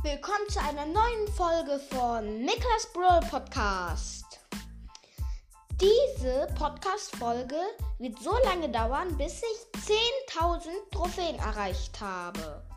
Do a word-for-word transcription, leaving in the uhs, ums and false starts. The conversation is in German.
Willkommen zu einer neuen Folge von Niklas Brawl Podcast. Diese Podcast-Folge wird so lange dauern, bis ich zehntausend Trophäen erreicht habe.